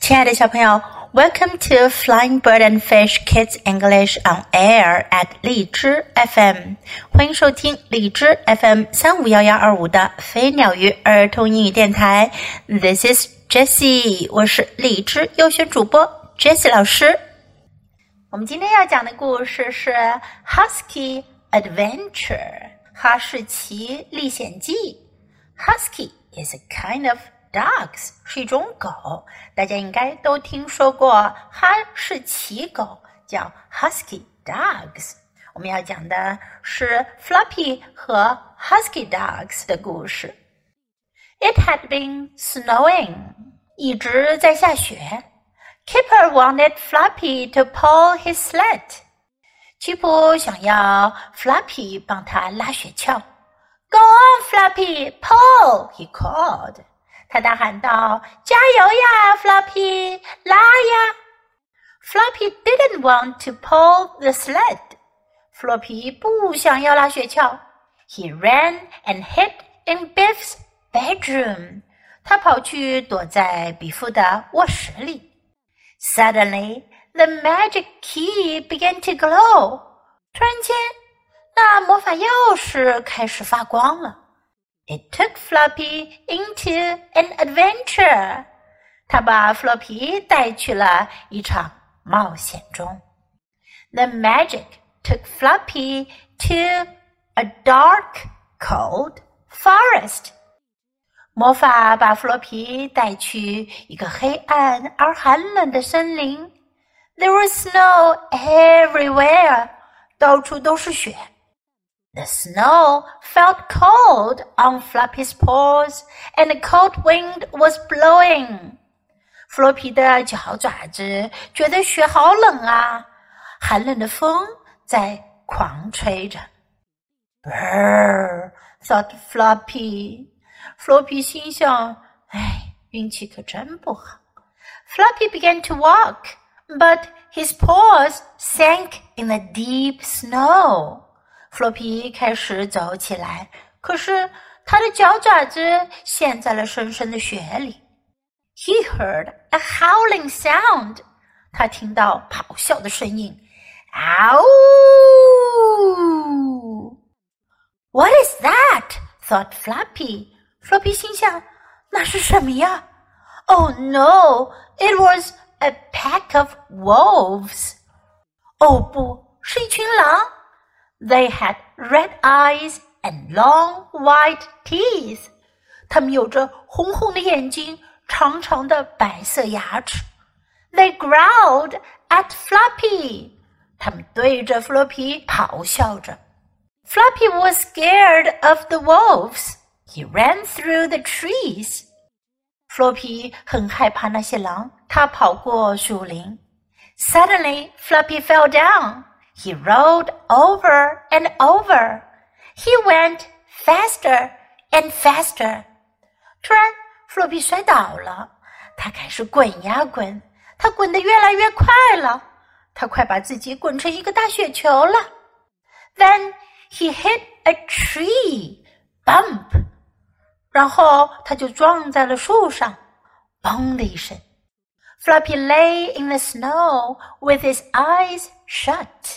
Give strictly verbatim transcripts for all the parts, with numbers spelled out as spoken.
亲爱的小朋友 Welcome to Flying Bird and Fish Kids English on Air at 荔枝 F M 欢迎收听荔枝 F M 三五一一二五的飞鸟鱼儿童英语电台 This is Jessie 我是荔枝优选主播 Jessie 老师。我们今天要讲的故事是 Husky Adventure 哈士奇历险记。 Husky is a kind of Dogs 是一种狗，大家应该都听说过哈士奇狗，叫 Husky Dogs。 我们要讲的是 Floppy 和 Husky Dogs 的故事。 It had been snowing 一直在下雪。 Kipper wanted Floppy to pull his sled 吉普想要 Floppy 帮他拉雪橇。 Go on Floppy, pull, he called他大喊道，加油呀 Floppy 拉呀。 Floppy didn't want to pull the sled Floppy 不想要拉雪橇。 He ran and hid in Biff's bedroom 他跑去躲在比夫的卧室里。 Suddenly the magic key began to glow 突然间那魔法钥匙开始发光了。It took Floppy into an adventure. 他把 Floppy 带去了一场冒险中。 The magic took Floppy to a dark, cold forest. 魔法把 Floppy 带去一个黑暗而寒冷的森林。 There was snow everywhere. 到处都是雪。The snow felt cold on Floppy's paws, and a cold wind was blowing. Floppy 的脚爪子觉得雪好冷啊，寒冷的风在狂吹着。Brrr, thought Floppy. Floppy 心想，哎，运气可真不好。Floppy began to walk, but his paws sank in the deep snow. Floppy 开始走起来，可是他的脚爪子陷在了深深的雪里。He heard a howling sound. 他听到咆哮的声音。嗷！ What is that? thought Floppy. Floppy 心想，那是什么呀？ Oh no, it was a pack of wolves. 哦不，是一群狼。They had red eyes and long white teeth. 他们有着红红的眼睛，长长的白色牙齿。They growled at Floppy. 他们对着 Floppy 咆哮着。Floppy was scared of the wolves. He ran through the trees. Floppy 很害怕那些狼，他跑过树林。Suddenly, Floppy fell down.He rolled over and over. He went faster and faster. 突然 Floppy 摔倒了，他开始滚呀滚，他滚得越来越快了，他快把自己滚成一个大雪球了。Then he hit a tree. Bump. 然后他就撞在了树上，嘣的一声。Floppy lay in the snow with his eyes shut.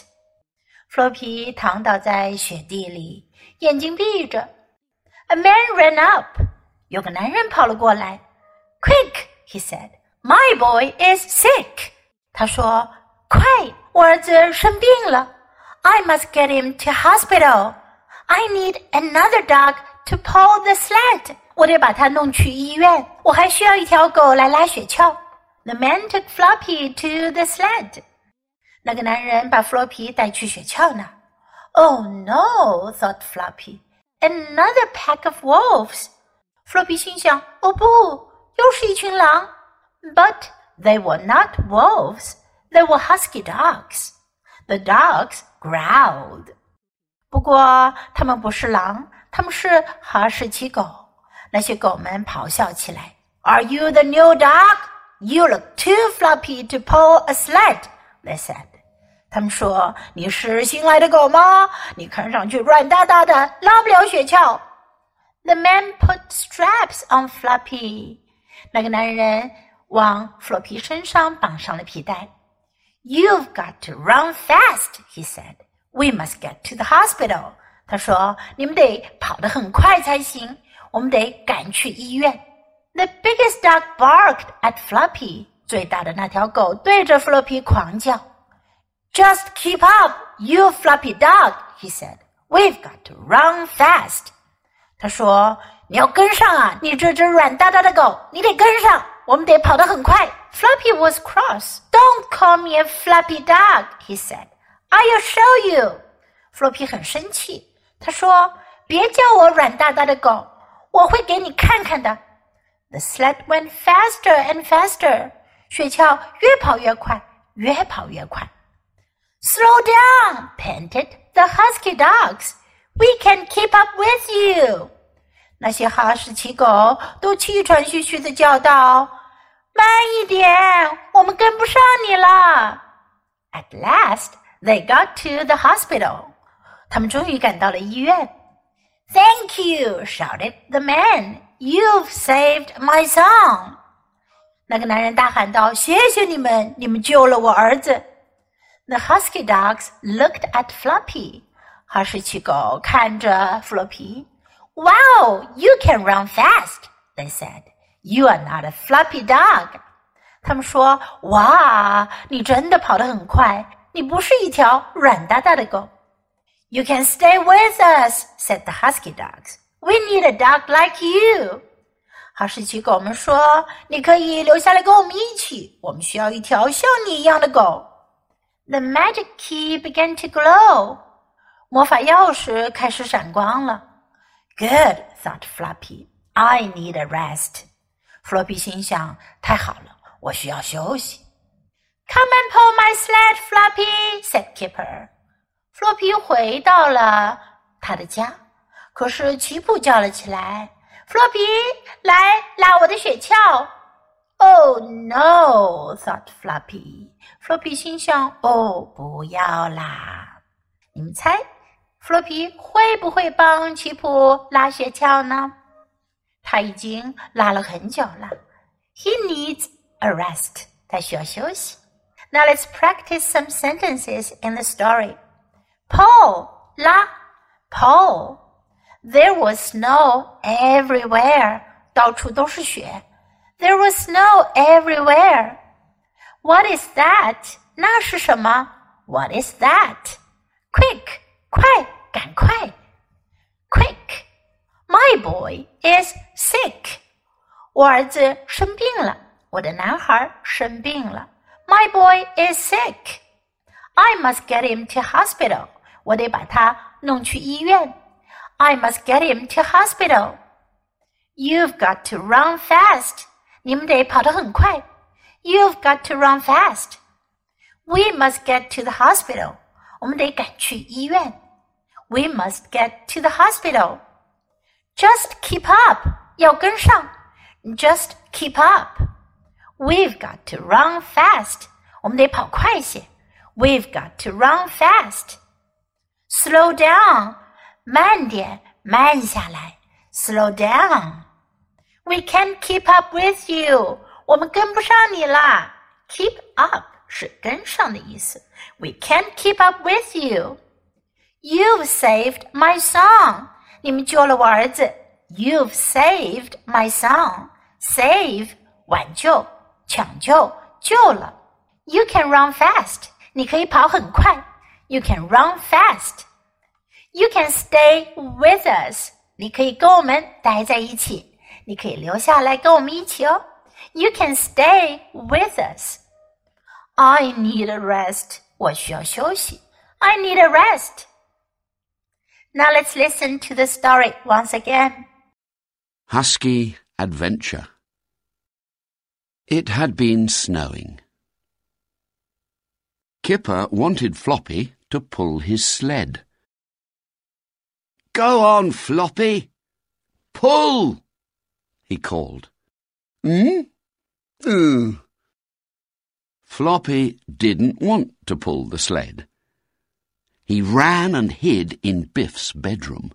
Floppy 躺倒在雪地里，眼睛闭着。A man ran up. 有个男人跑了过来。Quick, he said. My boy is sick. 他说，快，我儿子生病了。I must get him to hospital. I need another dog to pull the sled. 我得把他弄去医院，我还需要一条狗来拉雪橇。The man took Floppy to the sled. 那个男人把 Floppy 带去雪橇那儿。Oh no, thought Floppy. Another pack of wolves. Floppy 心想，哦不，又是一群狼。But they were not wolves. They were husky dogs. The dogs growled. 不过他们不是狼，他们是哈士奇狗。那些狗们咆哮起来。Are you the new dog?You look too floppy to pull a sled, they said. 他们说，你是新来的狗吗？你看上去软哒哒的，拉不了雪橇。The man put straps on Floppy. 那个男人往弗洛皮身上绑上了皮带。You've got to run fast, he said. We must get to the hospital. 他说，你们得跑得很快才行，我们得赶去医院。The biggest dog barked at Floppy. 最大的那条狗对着弗洛皮狂叫。Just keep up, you floppy dog, he said. We've got to run fast. 他说，你要跟上啊，你这只软哒哒的狗，你得跟上，我们得跑得很快。Floppy was cross. Don't call me a floppy dog, he said. I'll show you. 弗洛皮很生气，他说，别叫我软哒哒的狗，我会给你看看的。The sled went faster and faster. 雪橇越跑越快，越跑越快。Slow down, panted the husky dogs. We can keep up with you. 那些哈士奇狗都气喘吁吁地叫道，慢一点，我们跟不上你了。At last, they got to the hospital. 他们终于赶到了医院。Thank you, shouted the man. You've saved my son. 那个男人大喊道，谢谢你们，你们救了我儿子。The husky dogs looked at Floppy. 哈士奇狗看着弗洛皮。Wow, you can run fast, they said. You are not a floppy dog. 他们说，哇，你真的跑得很快，你不是一条软哒哒的狗。You can stay with us, said the husky dogs. We need a dog like you. 哈士奇狗们说，你可以留下来跟我们一起，我们需要一条像你一样的狗。The magic key began to glow. 魔法钥匙开始闪光了。Good, thought Floppy. I need a rest. 弗洛皮心想，太好了，我需要休息。Come and pull my sled, Floppy, said Kipper. 弗洛皮回到了他的家，可是奇普叫了起来，弗洛皮，来拉我的雪橇。Oh no, thought Floppy. 弗洛皮心想，哦，不要啦。你们猜，弗洛皮会不会帮奇普拉雪橇呢？他已经拉了很久了。He needs a rest. 他需要休息。Now let's practice some sentences in the story. Pull, 拉 pull. There was snow everywhere. 到处都是雪。There was snow everywhere. What is that? 那是什么？ What is that? Quick, 快，赶快。Quick. My boy is sick. 我儿子生病了，我的男孩生病了。My boy is sick. I must get him to hospital. 我得把他弄去医院。I must get him to hospital. You've got to run fast. 你们得跑得很快。You've got to run fast. We must get to the hospital. 我们得赶去医院。We must get to the hospital. Just keep up. 要跟上。Just keep up. We've got to run fast. 我们得跑快些。We've got to run fast. Slow down. 慢点，慢下来。Slow down. We can't keep up with you. 我们跟不上你啦。Keep up 是跟上的意思。We can't keep up with you. You've saved my son. 你们救了我儿子。You've saved my son. Save 挽救，抢救，救了。You can run fast. 你可以跑很快。You can run fast. You can stay with us. 你可以跟我们待在一起。你可以留下来跟我们一起哦。You can stay with us. I need a rest. 我需要休息。I need a rest. Now let's listen to the story once again. Husky Adventure. It had been snowing. Kipper wanted Floppy to pull his sled. Go on, Floppy. Pull, he called. Hmm? Mm. Floppy didn't want to pull the sled. He ran and hid in Biff's bedroom.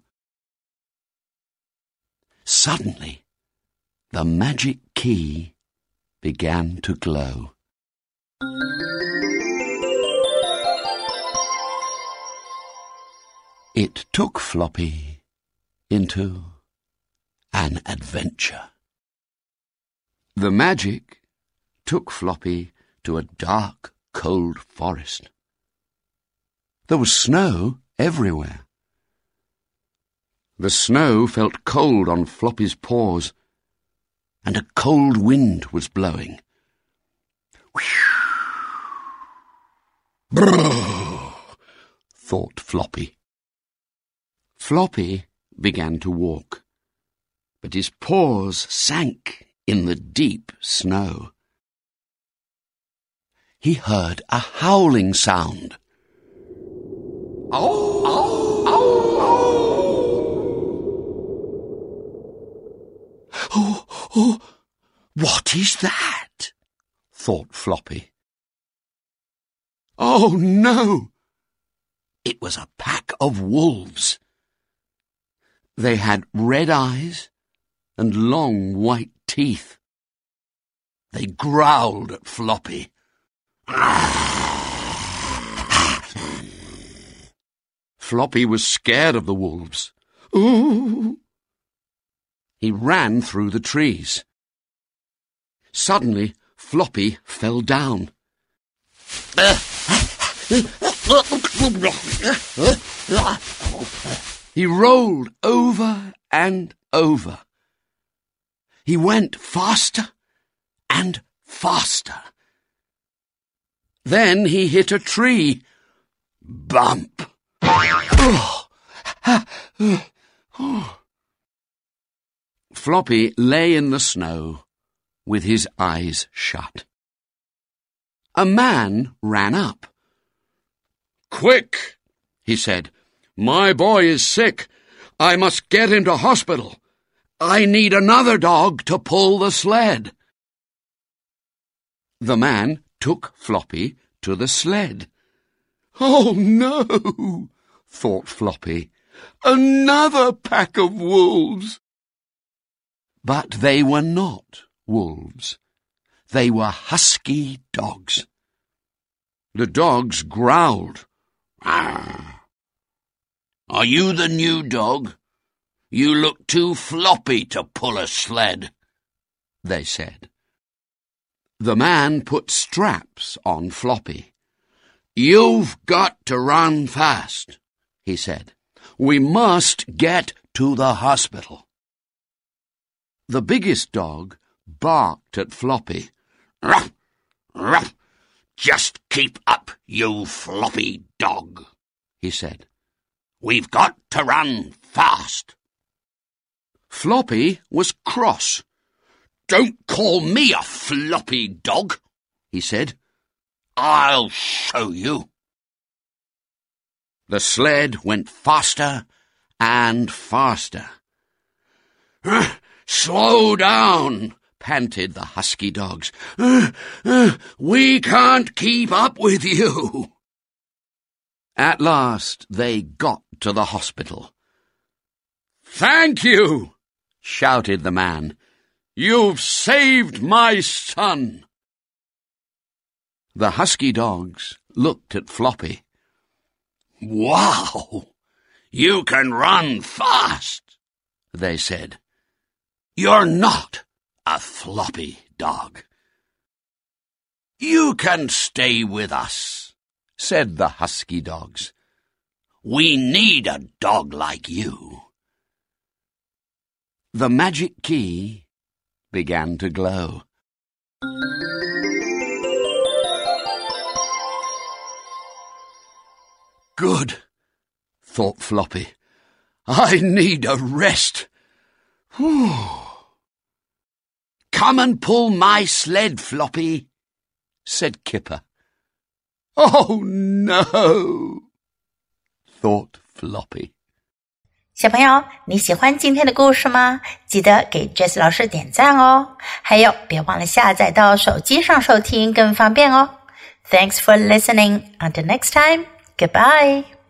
Suddenly, the magic key began to glow. It took Floppy into an adventure. The magic took Floppy to a dark, cold forest. There was snow everywhere. The snow felt cold on Floppy's paws, and a cold wind was blowing. Brrr, thought Floppy. Floppy began to walk, but his paws sank in the deep snow. He heard a howling sound. Ow, ow, ow, ow. Oh, oh, what is that? Thought Floppy. Oh, no! It was a pack of wolves. They had red eyes and long white teeth. They growled at Floppy. Floppy was scared of the wolves. Ooh! He ran through the trees. Suddenly, Floppy fell down. He rolled over and over. He went faster and faster. Then he hit a tree. Bump! Floppy lay in the snow with his eyes shut. A man ran up. "Quick," he said. "My boy is sick. I must get him to hospital. I need another dog to pull the sled." The man took Floppy to the sled. "Oh, no," thought Floppy. "Another pack of wolves." But they were not wolves. They were husky dogs. The dogs growled. "Arr! Are you the new dog? You look too floppy to pull a sled," they said. The man put straps on Floppy. "You've got to run fast," he said. "We must get to the hospital." The biggest dog barked at Floppy. "Ruff, ruff, just keep up, you floppy dog," he said. "We've got to run fast." Floppy was cross. "Don't call me a floppy dog," he said. "I'll show you." The sled went faster and faster. "Slow down," panted the husky dogs. Uh, uh, "We can't keep up with you." At last they got to the hospital. "Thank you," shouted the man. "You've saved my son." The husky dogs looked at Floppy. "Wow, you can run fast," they said. "You're not a floppy dog." "You can stay with us," said the husky dogs. "We need a dog like you." The magic key began to glow. Good, thought Floppy. I need a rest. Whew. Come and pull my sled, Floppy, said Kipper. Oh, no, thought Floppy. 小朋友，你喜欢今天的故事吗？记得给 Jess 老师点赞哦。还有，别忘了下载到手机上收听，更方便哦。Thanks for listening. Until next time, goodbye.